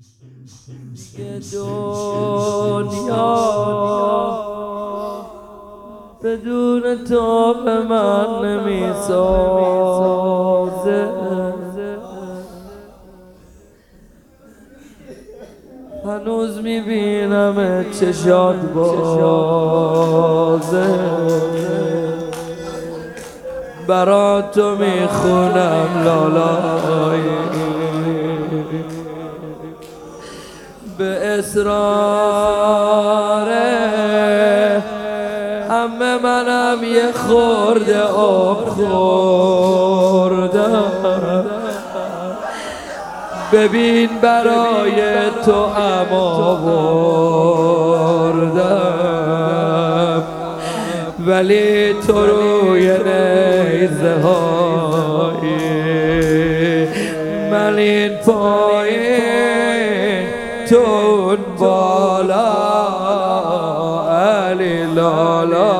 دنیا بدون تو به من نمیسازه، هنوز میبینم چشات بازه، برا تو میخونم لالای به اصراره. همه منم یه خورده آب خوردم، ببین برای تو اما بردم، ولی تو روی نیزه های من این پایین تو اون بالا، علی لالا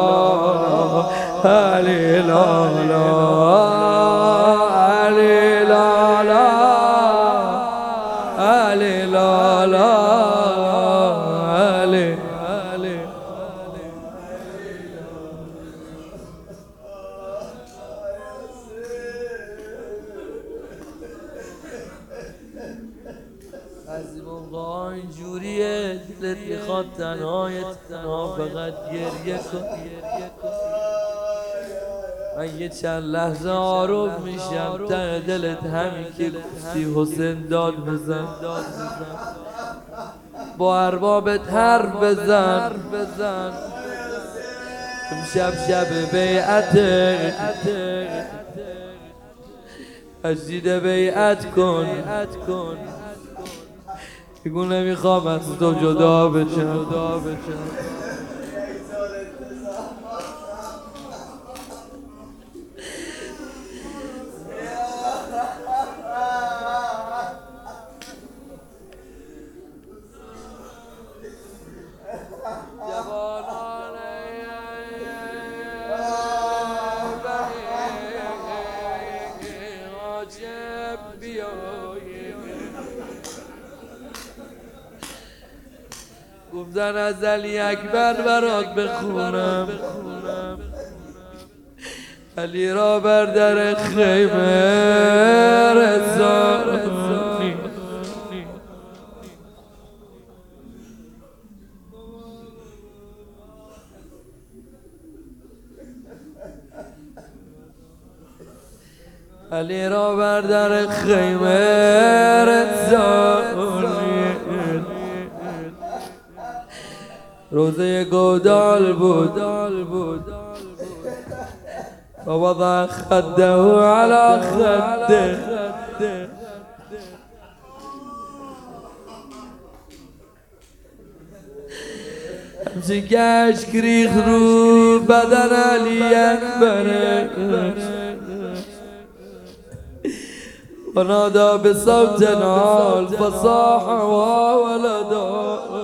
علی لالا علی لالا علی لالا علی علی. از این موقع اینجوریه دلت میخواد تنها فقط گریه کن. من یه چند لحظه آروم میشم، ته دلت همین که گفتی حسین داد بزن، با اربابت حرف بزن. امشب شب بیعته، مجید بیعت کن، بگو نمیخوام از تو جدا بشم. گفتن از علی اکبر برات بخونم، علی را بر در خیمه رسانی، علی را بر در خیمه رسانی، روزه گودال بود و وضع خده على خده، همچه گشت ریخ رو بدن علی اکبره و نادا بصوت عال فصاح وولدا